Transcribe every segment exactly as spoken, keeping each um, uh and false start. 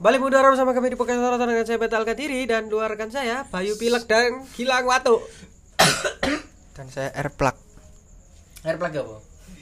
Balik mundur bersama kami di Podcast Sorotan dengan saya Betal Kadiri dan dua rekan saya Bayu Pilek dan Gilang Watu. Dan saya Airplug. Airplug apa?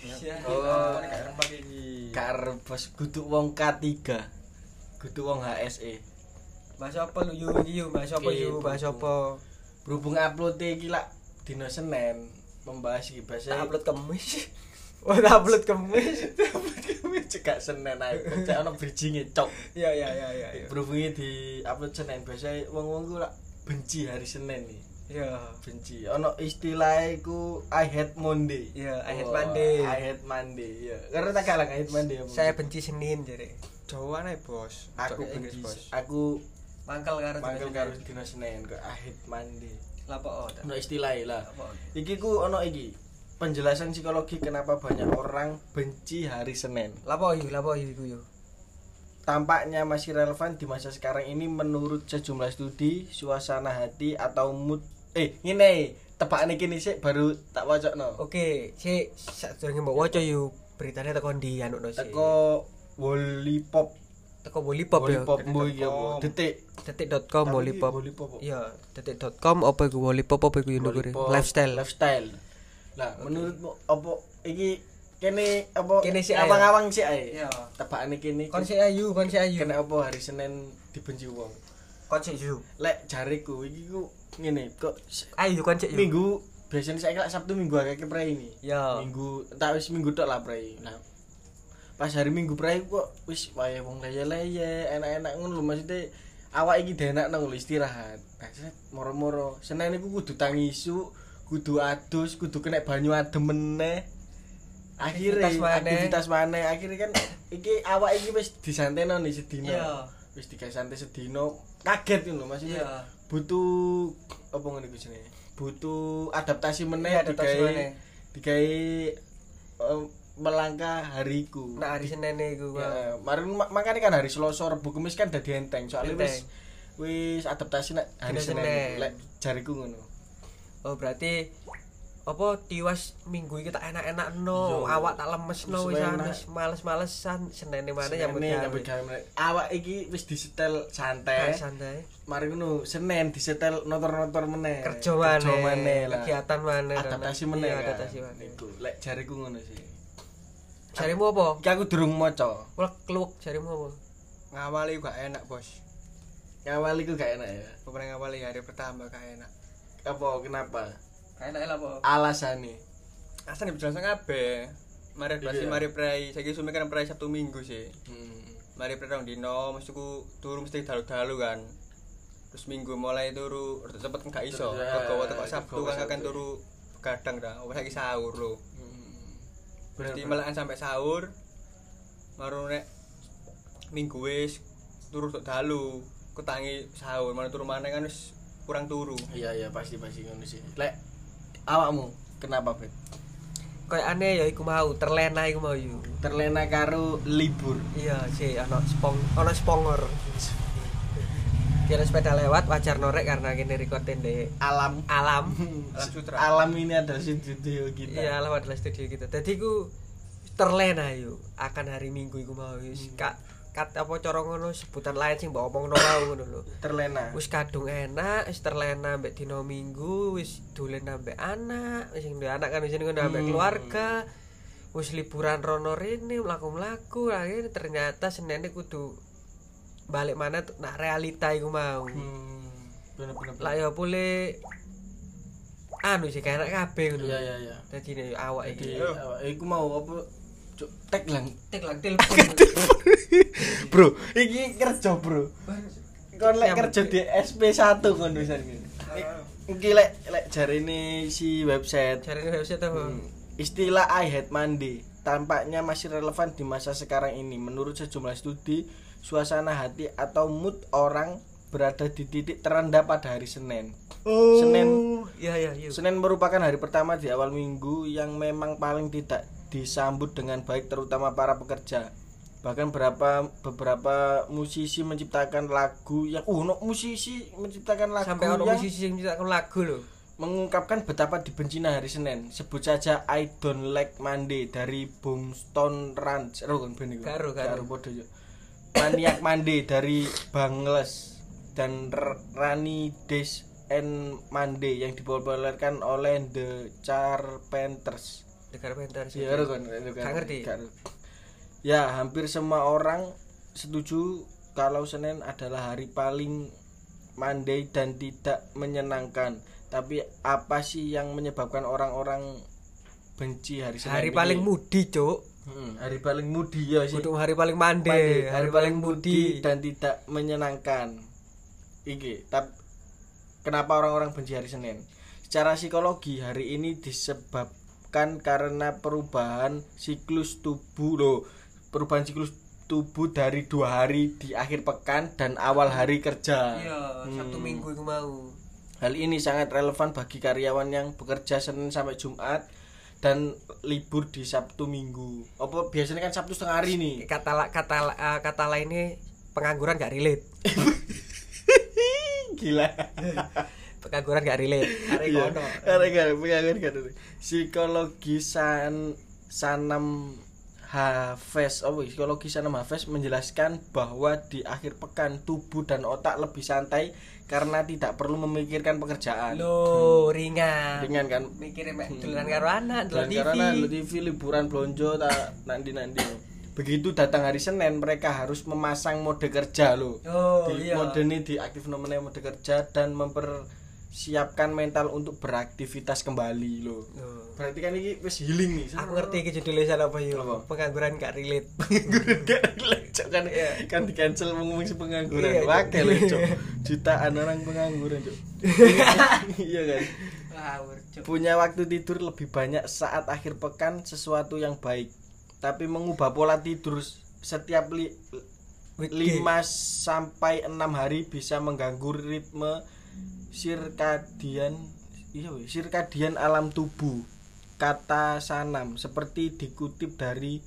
Oh, Airplug iki. Karbos kudu wong K tiga. Kudu wong H S E. Bahas apa lu yu iki yu, bahas apa yu, bahas apa. Berhubung upload iki lak dino Senin, membahas iki bahasa upload Kamis. Oh, upload Kamis. upload Kamis cekak Senin ae. Cek ono bridging-e cok. Iya iya iya iya. Berhubung di upload Senin biasa wong-wong ku lak benci hari Senin nih. Iya, benci. Ono istilah iku I hate Monday. Iya, I hate Monday. I hate Monday. Iya. Karena tak kalah I hate Monday. Saya benci Senin jare. Jawa nih bos. Aku benci. Aku mangkal karo mangkal karo dino Senin kok I hate Monday. Lah apa? Ono istilah lah. Iki ku ono iki. Penjelasan psikologi kenapa banyak orang benci hari Senin. Lapo iki, lapo iki iku yo. Tampaknya masih relevan di masa sekarang ini menurut sejumlah studi suasana hati atau mood. Eh, ngene, tebakane kene sik baru tak wacokno. Oke, sik sadurunge mbok waca yo beritane teko ndi anu no sik. Teko Wolipop. Teko Wolipop yo. Wolipop mbo iki apa? Detik. detik dot com Wolipop. Wolipop. Iya, detik dot com apa iku Wolipop apa iku yo ndukure? Lifestyle. Lifestyle. Lah, okay. Menurutmu apa iki kene apa kene sik awang-awang sik ae. Iya. Tebakane kene. Kon sik ayu, kon sik ayu. Kene apa hari Senin dibenci wong? Kon sik yu. Lek jariku iki ku ngene kok ayu kon sik yu. Minggu biasanya saiki lek Sabtu Minggu akeh prei ini. Iya. Minggu tak wis minggu tok lah prei. Nah, pas hari Minggu prei kok wis wae wong leye-leye, enak-enak ngono lho maksudnya awak iki denak nang istirahat. Nah, moro-moro Senin iku kudu tangisu, kudu adus, kudu kena banyu adem meneh. Akhire aktivitas maneh, akhire kan iki awak iki wis disanteno nih sedina. Iya. Wis digawe santai sedina, kaget ngono maksudnya. Iya. Butuh apa ngene iki jenenge? Butuh adaptasi meneh digawe digawe um, melangkah hariku. Nah, hari Senin iku. Ya, marin makane kan hari Selasa, Rebo, Kamis kan dadi enteng. Soale wis wis adaptasi nek hari Senin. Lek jariku ngono. Oh, berarti apa tiwas minggu iki tak enak-enakno, awak tak lemesno wis males-malesan Senene maneh nyambut gawe. Awak iki wis disetel santai. Santai. Mari ngono, Senin disetel notor-notor meneh. Kerja maneh, kegiatan maneh. Adaptasi meneh. Adaptasi maneh. Iku lek jariku ngono sih. Jarimu apa? Iki aku durung maca. Wek kluwek jarimu apa? Ngawali gak enak, Bos. Ngawali ku gak enak ya. Pokoknya ngawali hari pertama gak enak. Apa kenapa? Gak enak lha apa? Alasane. Asane dijelasan kabeh. Mari blas mari prei, saiki sume kan prei Sabtu Minggu sih. Hmm. Mari prei rong dino, mesti ku turu mesti dalu-dalu kan. Terus Minggu mulai turu cepet gak iso. Kegawa teko Sabtu kan kan turu begadang dah. Wis saiki sahur lho. Berarti melekan sampai sahur. Baru nek Minggu wis turu tok dalu, ketangi sahur, mana turu maneh kan wis kurang turu. Iya iya pasti pasti ngono sih. Lek awakmu kenapa, Bet? Kayak aneh ya iku mau terlena iku mau yo. Terlena karo libur. Iya, sih ana spong, ana spongor. Kira sepeda lewat wajar norek karena kene recording di alam alam alam sutra. Alam ini adalah studio kita. Iya, alam adalah studio kita. Dadi ku terlena yo akan hari Minggu iku mau wis kak kat apa cara ngono sebutan lain sing mbok omongno wae ngono lho. Terlena. Wis kadung enak, wis terlena mbek dina Minggu, wis dolen ambek anak, wis ndek anak kan wis ngono ambek hmm. keluarga. Wis liburan rono rene mlaku-mlaku, akhirnya ternyata Senene kudu balik mana tuh nak realita iku mau. Hmm. Bener-bener. Lah ya boleh anu sih kayak enak kabeh ngono. Iya iya iya. Dadi nek awak iki. Awak iku mau apa tek lang tek lang telepon. Bro, iki kerja, Bro. Kon lek kerja di S P satu kon wisan iki. Iki lek lek jarine si website. Jarine website apa? Hmm. Istilah I hate Monday tampaknya masih relevan di masa sekarang ini. Menurut sejumlah studi, suasana hati atau mood orang berada di titik terendah pada hari Senin. Oh, Senin, iya iya iya. Senin merupakan hari pertama di awal minggu yang memang paling tidak disambut dengan baik terutama para pekerja. Bahkan beberapa beberapa musisi menciptakan lagu yang uh no, musisi menciptakan lagu sampai yang ono musisi yang menciptakan lagu loh. Mengungkapkan betapa dibencinya hari Senin. Sebut saja I Don't Like Monday dari Boomstone Ranch. Ero kan ben iku. Karo karo podo yo. Maniac Monday dari Bangles dan R- Rani Days and Monday yang dipopulerkan oleh The Carpenters. The Carpenters. Ya, kan, Gak ngerti. Ya, hampir semua orang setuju kalau Senin adalah hari paling Monday dan tidak menyenangkan. Tapi apa sih yang menyebabkan orang-orang benci hari Senin? Hari paling mudi, Cuk. Hmm, hari paling mudi ya sih. Untuk hari paling mande, Monday, hari, hari paling mudi dan tidak menyenangkan. Iki, tapi kenapa orang-orang benci hari Senin? Secara psikologi hari ini disebabkan karena perubahan siklus tubuh loh. Perubahan siklus tubuh dari dua hari di akhir pekan dan awal hari kerja. Iya, Sabtu Hmm. Minggu itu mau. Hal ini sangat relevan bagi karyawan yang bekerja Senin sampai Jumat dan libur di Sabtu Minggu. Apa biasanya kan Sabtu setengah hari nih. Kata la- kata uh, kata lainnya pengangguran gak relate. Gila. Pengangguran gak relate. Arek Iya. kono. Arek kan pengen kan. Psikologi San Sanam Hafes, oh psikologi Sanam Hafes menjelaskan bahwa di akhir pekan tubuh dan otak lebih santai karena tidak perlu memikirkan pekerjaan. Loh, ringan. Ringan kan? Mikirin mek dolanan karo anak, Dan ndelok T V. karena lu T V liburan blonjo tak nanti-nanti. Begitu datang hari Senin mereka harus memasang mode kerja loh. Oh, Di iya. mode ini diaktif nomornya mode kerja dan mempersiapkan mental untuk beraktivitas kembali loh. Loh. Berarti kan ini wis healing nih. Aku ngerti iki judulnya salah apa yo. Apa? Pengangguran gak relate. Pengangguran gak lecok kan kan di cancel ngomong si pengangguran. Iya, Cok. Wakil lecok. Jutaan orang pengangguran, Cok. Iya kan? Ngawur, Cuk. Punya waktu tidur lebih banyak saat akhir pekan sesuatu yang baik. Tapi mengubah pola tidur setiap li, lima sampai enam hari bisa mengganggu ritme sirkadian iya we, sirkadian alam tubuh. Kata Sanam seperti dikutip dari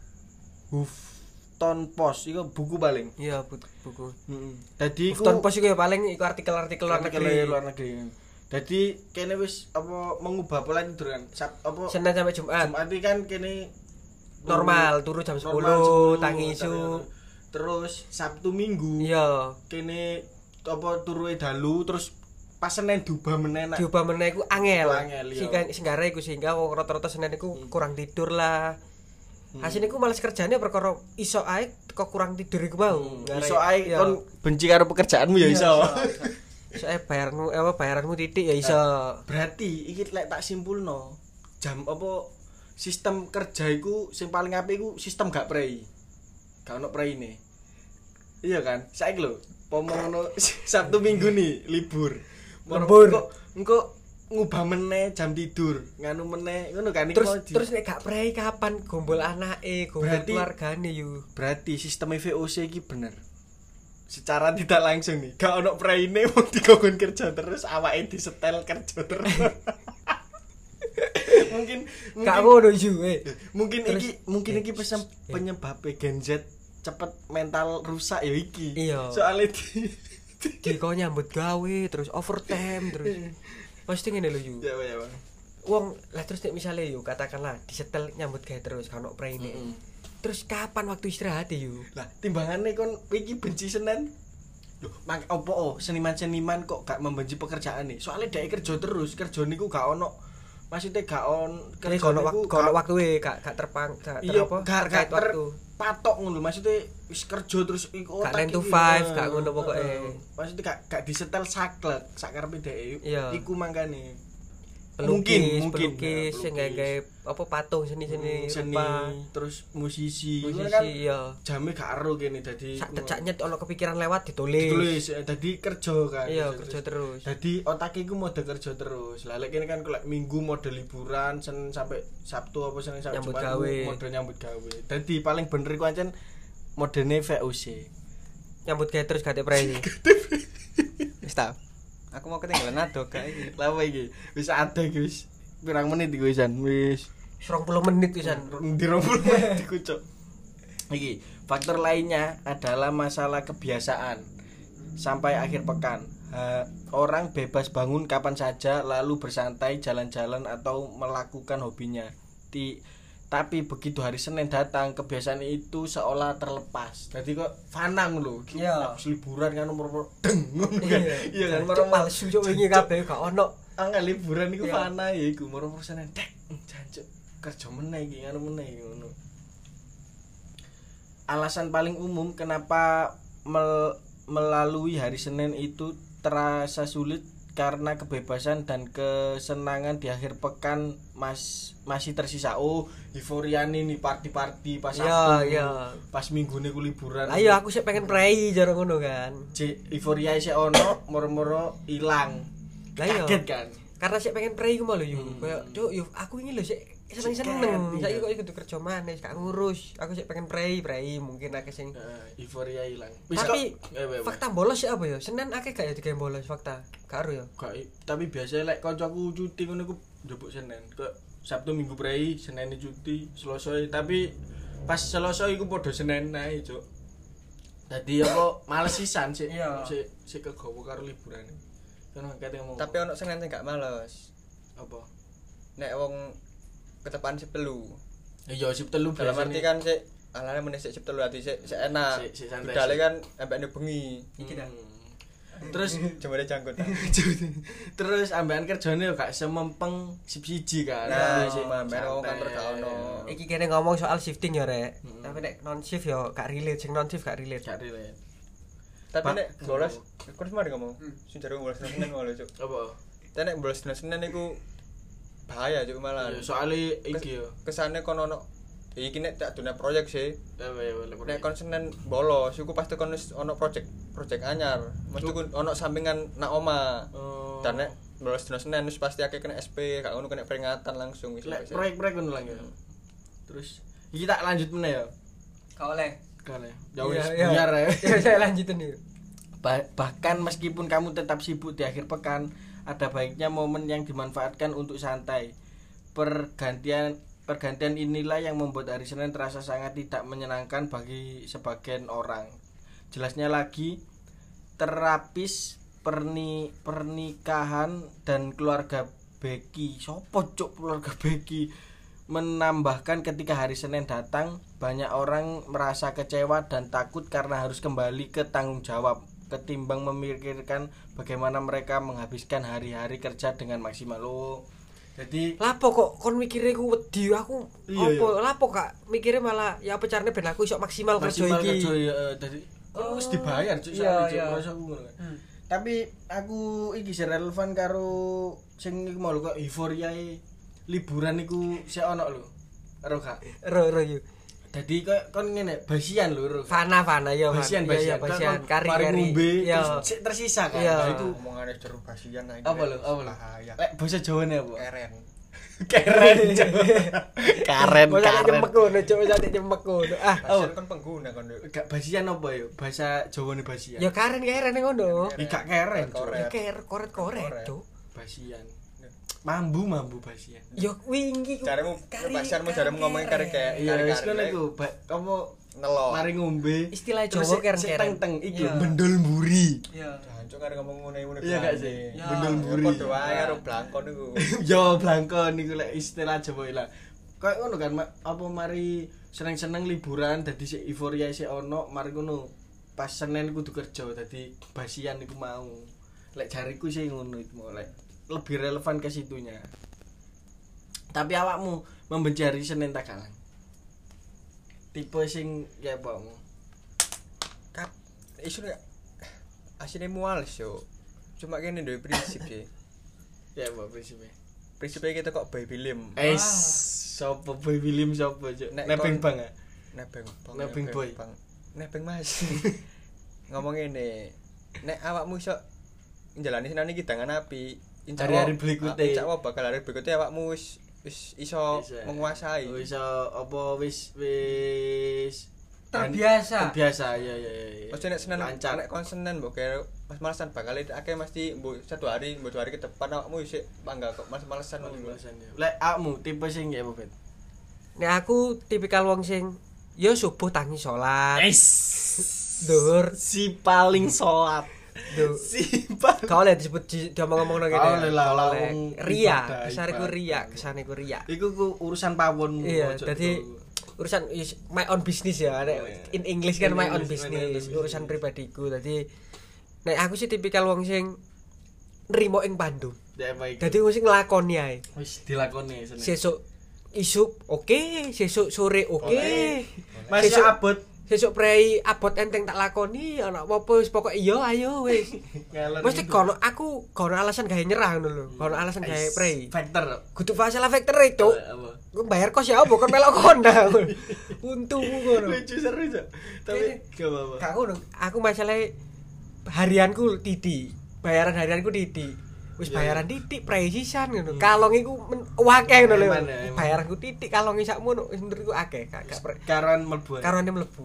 Huffington Post itu buku paling. Iya, bu- buku. Heeh. Dadi Huffington Post iku ya paling iku artikel-artikel luar negeri. luar negeri. Dadi kene wis apa mengubah pola tidur kan. Sab, apa Senin sampai Jumat. Jumat iki kan kene Normal, turu jam normal sepuluh, sepuluh, tangi tangi- isu. Terus Sabtu Minggu Iya. kene apa turuwe dalu terus pas Senin diubah meneh nak. Diubah meneh iku angel. Angel, iya. Sehingga singgare iku sehingga wong rata-rata Senin iku kurang tidur lah. Hasilnya iku males kerjane perkara iso ae kok kurang tidur iku mau. Ngare- Iso ae iya. kon benci karo pekerjaanmu ya iso. Iso ae bayarmu eh, apa bayaranmu titik ya iso. Berarti iki lek tak simpulno jam apa sistem kerja iku sing paling apik iku sistem gak prei. Gak ono preine. Iya kan? Saiki lho, pomong ngono Sabtu Minggu nih libur. Lembur. Engko engko ngubah meneh jam tidur, nganu meneh ngono kan iku Terus mau di- terus nek gak prei kapan gombol anake, gombol Berarti- keluargane yo. berarti sistem V O C iki bener. Secara tidak langsung nih, gak ono preine wong dikongkon kerja terus awake disetel kerja terus. mungkin Gak mungkin ngono yo eh. mungkin Terus- iki mungkin iki eh, pesem, eh. penyebab Gen Z cepet mental rusak ya iki. Iya. Soalnya di, Di kok nyambut gawe terus overtime terus. Pasti ngene lho yo. ya ya Bang. Wong lah terus nek misale yo katakanlah disetel nyambut gawe terus kan ono preine. Mm-mm. Terus kapan waktu istirahat yo? Lah timbangane kon iki benci Senin. Loh, mak opo oh, seniman-seniman kok gak membenci pekerjaan nih? Soalnya dia kerja terus, kerja niku gak ono. Maksudnya gak on Kerja kerja ono niku waktu ono waktu e gak gak terpang gak ter iya apa? gak terkait gak ter, waktu. patok ngono maksudnya wis kerja terus iku Gak otak nine to iki, five, eh, gak ngono pokoke. eh, maksudnya gak gak disetel saklek sakarepe dhek Iya. iku mangkane Pelukis, mungkin pelukis ya, sing gawe apa patung seni-seni seni rupa. terus musisi Musisi Ngono kan iya. jame gak ero kene dadi Sak decaknya ono kepikiran lewat ditulis. ditulis eh, dadi kerja kan Iya, kerja terus. dadi otak iku mode kerja terus lah lek kene kan kalau minggu mode liburan Senin sampai Sabtu apa Senin sampai Nyambut Jumat gawe. iku mode nyambut gawe dadi paling bener iku ancen modene V O C Nyambut gawe terus gak prei. Wis ta. Aku mau ketinggalan ado gak iki. lama iki wis ada iki wis pirang menit iku wisan wis serong puluh menit pisan. di rombol menit iku cok iki faktor lainnya adalah masalah kebiasaan sampai akhir pekan ha, orang bebas bangun kapan saja lalu bersantai jalan-jalan atau melakukan hobinya Ti, Tapi begitu hari Senin datang, kebiasaan itu seolah terlepas. Jadi kok fana ngono. Iya. Habis liburan kan nomor deng ngono kan. Iya kan Cuk, palsu cuk wingi kabeh gak ono. Angel liburan iku Iya. fana ya iku moro-moro Senin dek jancuk kerja meneh iki ngono meneh ngono. Alasan paling umum kenapa mel- melalui hari Senin itu terasa sulit karena kebebasan dan kesenangan di akhir pekan mas masih tersisa. Oh, euforia nih party-party pas Iya, Sabtu. iya. Pas Minggune ku liburan. Ayo aku sih pengen prei jare ngono kan. Cek euforia isih ono, moro-moro ilang. Lah iya. Kaget kan. Karena sih pengen prei ku mau lho yo. Hmm. Kayak cuk yo aku ini lho sih seneng-seneng. Seket, Saiki iya. kok ikut kerja maneh gak ngurus. Aku sih pengen prei, prei mungkin akeh sing Heeh, euforia ilang. tapi kok- eh, eh, eh. fakta bolos ya apa ya? Senin akeh gak ya digawe bolos fakta? Karo ya. Gak, tapi biasa lek kancaku cuti ngono ku njupuk Senin. Kok Sabtu Minggu prei, Senin cuti, Selasa tapi pas Selasa iku padha Senin ae, Cuk. Dadi apa males sisan sik Iya. sik sik kegowo karo liburan. Kan kate ngomong. Tapi ono Senin sing gak males. apa? Nek wong ketepan sip telu. Iya sip telu Dalam biasane. arti kan sik alane meneh sik sip telu ati sik sik enak. Sik- sik santai, Budale sik. kan ambekne bengi. Iki dah. Hmm. Terus Jemare jangkut. terus ambekan kerjane yo gak semempeng sip siji kan. Nah, Sik ambekan santai. wong kantor gak ono. Iki kene ngomong soal shifting ya rek. Hmm. Tapi nek non shift yo gak relate, sing non shift gak relate. Gak relate. Tapi Pak- nek bolos, aku wis mari ngomong. Sing jare bolos Senin wae Cuk. Apa? Tapi nek bolos Senin iku bahaya Cuk malah. Ya, soalnya iki yo. Kesane kon ono iki nek tak dunia proyek sih. Apa ya, boleh, boleh. Nek kon Senin bolos, iku pasti kon wis ono project project anyar. Mesti ku ono sampingan nak oma. Oh. Dan nek bolos dina Senin wis pasti akeh kena S P, gak ngono kena peringatan langsung wis. Lek proyek-proyek ngono lang ya. Terus iki tak lanjut meneh ya. Gak oleh. Kale. Ya Iya, wis iya. biar ya. Ya saya lanjutin nih. Ba- bahkan meskipun kamu tetap sibuk di akhir pekan, ada baiknya momen yang dimanfaatkan untuk santai. Pergantian pergantian inilah yang membuat hari Senin terasa sangat tidak menyenangkan bagi sebagian orang. Jelasnya lagi, terapis perni pernikahan dan keluarga Becky, sopo cuk keluarga Becky, menambahkan ketika hari Senin datang, banyak orang merasa kecewa dan takut karena harus kembali ke tanggung jawab ketimbang memikirkan bagaimana mereka menghabiskan hari-hari kerja dengan maksimal. Loh. Jadi Lapo kok kon mikire ku wedi aku Iya, opo lapo kak mikire malah ya apa carane ben aku iso maksimal kerja maksimal iki. kerja ya eh, jadi oh, wis dibayar cuk iya, sampe iya. cuk rasa aku ngono kan. Hmm. Tapi aku iki sing relevan karo sing iku mau lho kok euforia liburan iku sik ono lho. Ero gak? Ro ro yo. Dadi kok kon ngene basian lho ro. Fana fana ya. Basian Iya, iya, basian. basian. Kari Mari kari. ngombe Iya. terus sik tersisa kan. Iya. Nah, iku Omongane jero basian ae. apa lho? Apa lho? Bahaya. Lek bahasa Jawane apa? Keren. Keren. Karen Kok sak karen. nyemek ngono, cuk sak nyemek ngono. Ah, Basian kan pengguna kan Duk. Gak basian apa ya? Bahasa Jawane basian. ya karen karen ngono. Ih, gak keren. Cuk. Koret. Ya ker koret koret, Koret. cuk. Basian. Mambu mambu basian. Yo wingi ku. Caremu kari- basianmu kari caremu ngomongin kare kayak Iya, wis kare-kare. ngono iku. Ba- Kamu Nelo. mari ngombe. Istilah terus Jawa sik- keren sik keren. teng-teng iki Iya. bendol mburi. Iya. Jancuk kare ngomong ngene-ngene. Iya gak sih? Ya. Bendol mburi. Padha wae karo blangkon iku. Yo blangkon niku lek istilah Jawa ilang. Kayak ngono kan Ma- apa mari seneng-seneng liburan dadi sik euforia sik ono, mari ngono pas Senin kudu kerja dadi basian iku mau. Lek jariku sih ngono iku mau lek lebih relevan ke situnya. Tapi awakmu membenci hari Senin tak kalang? Tipe sing ya apakmu? Kap isu gak asine muales yo. Cuma kene duwe prinsip sih. Ya apa prinsipnya? Prinsipnya kita kok baby lim. Eh, sopo boy William sopo cuk? Nek Nebeng kon- bang ah. Nebeng bang. Nebeng boy. Bang. Nebeng Mas. Ngomong ngene. Nek awakmu iso njalani senane iki dengan api. Insya Hari-hari Allah- berikutnya. ah, Insya Allah bakal hari berikutnya awakmu wis wis iso Bisa. menguasai. Oh, iso apa wis wis Terbiasa. Terbiasa ya ya ya. ya. Mesti nek Senin lancar. nek kon Senin mbok kira mas-malesan bakal akeh mesti mbok satu hari mbok dua hari ke depan awakmu isih bangga kok mas-malesan ngono lho. Lek akmu tipe sing ya apa bet? Nek aku tipikal wong sing yo subuh tangi salat. Es Dhuwur. si paling sholat. Duh. Simpel. Gak oleh disebut di- diomong-omong nang Gak oleh kene. lah, Gak oleh. wong Ria, ibadah, kesane ku ibadah. ria, kesane ku ria. Iku ku urusan pawon. Iya, dadi urusan is my own business ya. Nek in English kan In my own English, my own business, business. urusan pribadiku. Dadi nek aku sih tipikal wong sing nrimo ing Bandung. Dadi wong sing nglakoni ae. wis dilakoni seneng. Sesuk isuk oke, sesuk sore oke. Masih Sesuk- abot. Sesuk prei abot enteng tak lakoni ana apa wis pokoke iya ayo wis. Ngalor Mesti ngidul. kono aku kono alasan gawe nyerah ngono lho. Kono alasan gawe prei. Factor. Kudu masalah factor e, Cuk. Apa? Gue bayar kos ya apa kon melok konda. Untumu ngono. Lucu seru Cok. Tapi gak apa-apa. Gak ngono. Aku masalah harianku titik. Bayaran harianku titik. Wis Iya, bayaran titik prei sisan ngono. Kalong iku men- akeh ngono lho. Emang ya, emang. Bayaranku titik kalong sakmono wis menurutku akeh. Gak gak pre- Karuan mlebu. karone mlebu.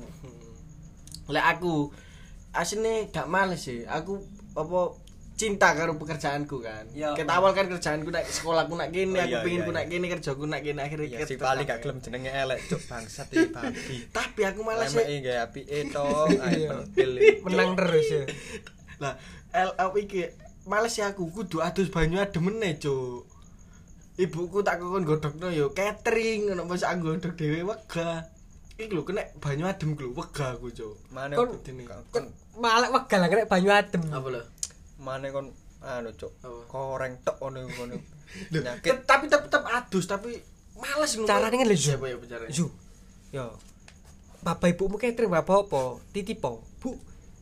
Lek aku asine gak males sih. Aku apa cinta karo pekerjaanku kan. Ya. Ket awal kan kerjaanku nak sekolahku nak kene, Oh, aku iya, pengin iya, ku nak iya. kene, kerjaku nak kene akhirnya Ya ket- si paling gak gelem jenenge elek cuk bangsat iki babi. Tapi aku malas Lemeke sih. gawe apike to, ae Iya. pentil. Menang terus ya. Lah, L L iki males sih aku kudu adus banyu adem meneh, Cuk. Ibuku tak kokon godhogno yo catering ngono masa aku godhog dhewe wegah. Iki lho kena banyu adem ku lho wegah aku, Cuk. Mane Kon- kon Kon malek wegal nek banyu adem. Apa lho? mane kon anu cuk. Apa? Koreng tok ngono ngono. Loh, Nyakit. tet- tapi tetep tetep adus tapi males ngono. Carane kan lho, Zu. Siapa ya bicaranya? Zu. Yo. Bapak ibumu catering bapak apa? Titipo. Bu.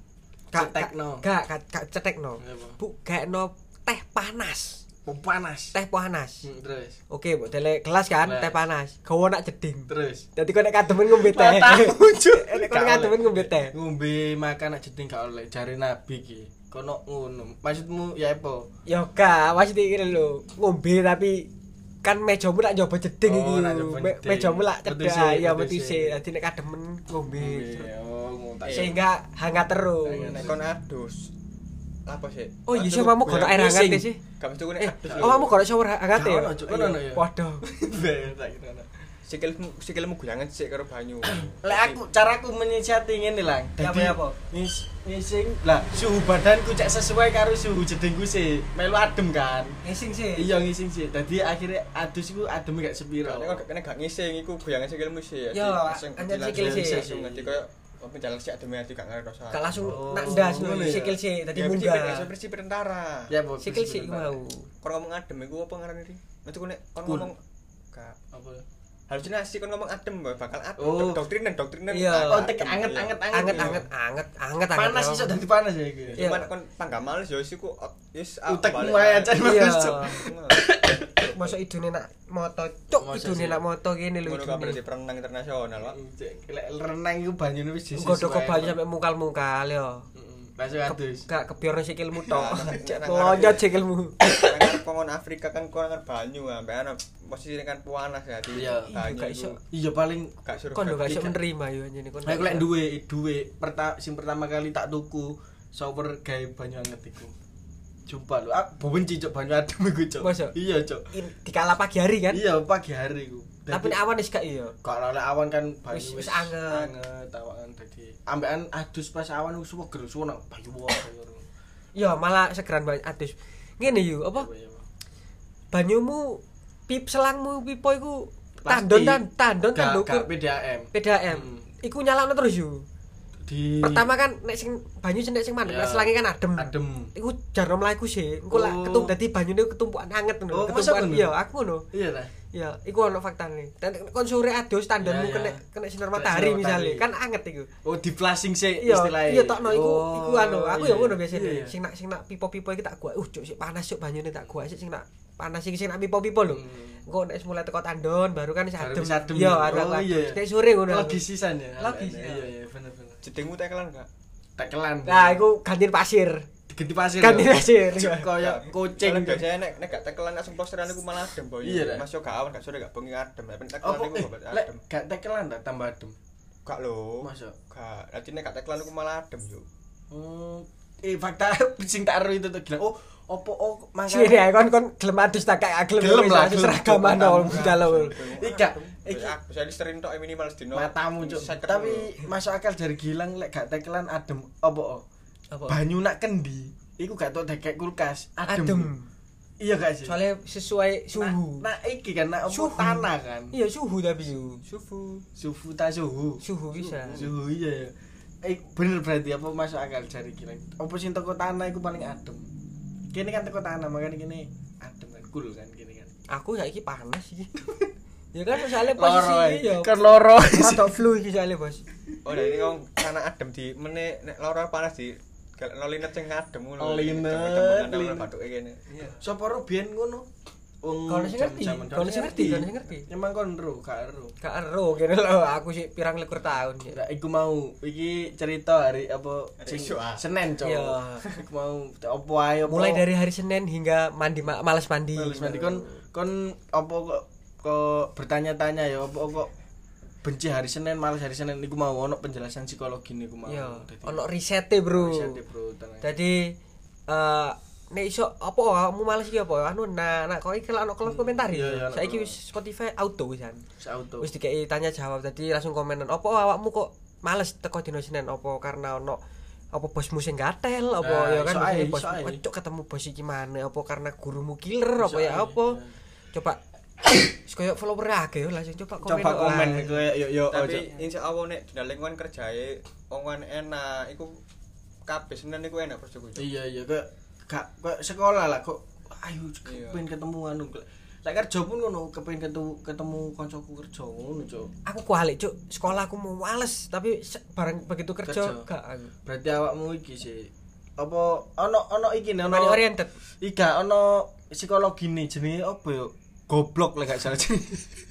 Cetekno. Gak, gak, gak cetekno. Apa? Bu, gaekno teh panas. Oh, panas. Teh panas. Hmm, terus. Oke, mbok dele gelas kan, Gelas. teh panas. Gawa nak jeding. Terus. Dadi kok nek kademen ngombe teh. Matamu, Cuk. Nek kok kademen ngombe teh. Ngombe makan nak jeding gak oleh jare nabi ki. Kono ngono. Maksudmu ya apa? Yo gak, mesti iki lho. Ngombe tapi kan mejamu nak nyoba jeding Oh, iki. nak nyoba Me- jeding. Mejamu lak Betise, cedak, ya betise. betise. Dadi nek kademen ngombe. Oh, ngono tak. Sehingga hangat terus. Nek kon adus. Apa sih? Oh iya sih mamu gono air hangat sih. Gak mesti kene Eh, adus. oh kamu gono shower hangat ya? Gono, Cuk, gono, ya? Waduh. Tak kira. Sikilmu sikilmu guyangan sik karo banyu. Lek aku caraku menyiasati ngene lang. Ya, Dadi apa, apa? ngis ngising lah suhu badanku cek sesuai karo suhu jedingku sih. Melu adem kan. Ngising sih. Iya ngising sih. Dadi akhirnya adus iku adem gak sepiro. Nek kok kene gak ngising iku guyangan sikilmu sih. Yo, anjen sikil sih. Langsung ngerti koyo apa jalan sik ademe ati gak ngerasa. Gak langsung Oh, nak ndas ngono ngono ya? sikil sih dadi Ya, munggah. prinsip- prinsip tentara. Ya, apa? Sikil sih iku mau. Kon ngomong adem iku apa ngarani iki? Metu nek kon Kun. ngomong gak Apa? halusinasi kon ngomong adem bakal adem. Oh. Doktrinan doktrinan. Iya. Oh, tek anget anget Anget anget anget anget Panas iso dadi panas ya iki. Iya. Cuman kon panggah males yo isiku wis Utekmu ae aja Iya. bagus, Cuk. Masa idune nak moto cuk Masa idune sih? nak moto kene lho Ngono kabeh idune. di perenang internasional, Pak. Lek renang iku banyune wis disesuai. Godho ke banyu sampe mungkal-mungkal yo. Heeh. Langsung adus. Gak kebiorno sikilmu tok. Nah, nah, nah, Lonjot nah, sikilmu. Kan kongon Afrika kan kon kan banyu ambek ana posisi kan panas ya di Iya. banyu. Gak iso. Iya paling Gak suruh. Kon lho gak iso Iya. menerima yo anjene kon. aku lek duwe duwe perta sing pertama kali tak tuku shower gawe banyu anget iku. Jumpa lho, aku benci cuk banyu adem iku cuk. Masa? Iya cuk. In- dikala pagi hari kan. Iya pagi hari iku. Tapi nek awan wis gak iya. kalau lek awan kan banyu Wis- wis anget. Anget awan dadi ambekan adus pas awan wis seger suwe nang banyu wae. Yo malah segeran banget adus. Ngene yo apa? Banyumu pip selangmu pipo iku tandon tan tandon kan Gak ndukur P D A M. P D A M. Hmm. Iku nyalakno terus yo. Di Pertama kan nek sing banyu sing nek sing mandek Ya. nek selange kan adem. adem. Iku jarno mlaku sih. Engko lak Oh. ketum dadi banyune ketumpukan anget ngono. Oh, masa Ketumpukan ngono? iya aku ngono. Iya ta. Ya, iku ono faktane. Dan kon sore adus tandonmu Ya, ya. kena kena sinar Kena matahari sinar misale, matahari. kan anget iku. Oh, di flashing sih Iya, istilahnya. iya tokno iku Oh, iku anu, aku ya iya, ngono iya. biasane. Iya, iya. Sing nak sing nak pipo-pipo iki tak gua. Uh, cuk sik panas cuk banyune tak gua sik sing nak panas iki sing nak pipo-pipo lho. Hmm. Engko nek mulai teko tandon baru kan wis Baru adem. wis adem. Iya, Oh, ada aku. iya. Nek sore ngono. aku. Logisisan ya. Logis, Iya iya. iya bener bener. Jedingmu tekelan gak? Tekelan. Nah, iku gantiin pasir. diganti pasir. Ganti lho. pasir. Cuk, Kayak kucing. Kalau biasanya nek nek gak tekelan langsung posteran iku malah adem, Boy. Iya, dah. Mas yo gak awan gak sore gak bengi adem. Nek tekelan Apa iku eh, gak lek adem. gak tekelan tak tambah adem. Gak lho. Masa? Gak. Dadi nek gak tekelan iku malah adem yo. Hmm, eh fakta sing tak ero itu tuh gila. Oh, opo oh Sih ya kon kon gelem adus tak kayak gelem Gelem lah, adus gelem. seragaman dong dalam. Ika, Iki iki bisa listerin tok minimal sedino. matamu cuk. Seket Tapi dulu. masuk akal dari Gilang lek gak tekelan adem opo? Oh? Apa? Banyu nak kendi, iku gak tau dekek kulkas, adem. Adem. Iya gak sih? Soalnya sesuai suhu. Nah, nah iki kan nak apa Suhu. tanah kan. Iya suhu tapi suhu. Sufu. Suhu ta suhu. Suhu bisa. Suhu iya ya. Eh bener berarti apa masuk akal jari kira. Apa sing teko tanah iku paling adem. Kene kan teko tanah makanya kene adem kan cool kan kene kan. Aku saiki panas iki. Ya kan soalnya Loro posisi ya. kan loro. Rada flu iki soalnya, Bos. Oh, nah ini wong tanah adem di meneh nek lara panas di linet sing adem ngono. Linet, linet. Bathuke kene. Iya. Sapa ro biyen ngono? Wong Kalau sing ngerti, jam-jaman- kalau sing ngerti, kalau sing ngerti. Emang kon ro, gak ero. Gak ero kene lho, aku sih pirang likur tahun ya. Nah, iku mau iki cerita hari apa Hari sing esuk, ah. Senin, Cok. Iya. Iku mau apa ae apa. Mulai dari hari Senin hingga mandi ma- males mandi. Males mandi kon kon apa kok kok bertanya-tanya ya apa kok benci hari Senin malas hari Senin iku mau ono penjelasan psikologi niku mau. Iya, Dadi- ono risete, Bro. Risete, Bro, tenang. Jadi eh nek iso apa kamu males iki apa anu nah nak kok iki lek ono kolom komentar Iya, iya, ya. ono Saiki kolom. wis Spotify auto wisan. Auto. Wis dikei tanya jawab tadi langsung komenan apa awakmu kok males teko dino Senin apa karena ono apa bosmu sing gatel apa Nah, ya kan iso ae, biasanya iso bos ae. kocok ketemu bos iki mana apa karena gurumu killer apa Iso ya ae, apa iya. coba wis koyo follower akeh yo langsung coba komen Coba komen lah. kowe yo yo Tapi ojo. insyaallah nek dina lingkungan kerjae wong enak iku kabeh Senin iku enak bojoku. Iya iya kok gak kok sekolah lah kok ayo Iya. pengen ketemu anu. Lek kerja pun ngono kepengen ketemu ketemu kancaku kerja ngono, Cuk. Aku kualik cuk sekolah aku mau males tapi se- bareng begitu kerja Kerja. gak aku Berarti awakmu iki sih apa ono ono iki nih, ono money oriented. Iga ono psikologi nih jenenge apa yo? Goblok lek gak salah jenenge.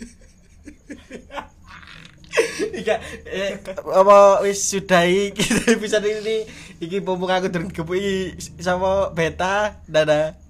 Iga eh, apa wis sudahi kita episode ini iki pompong aku durung gepuki sama beta dadah.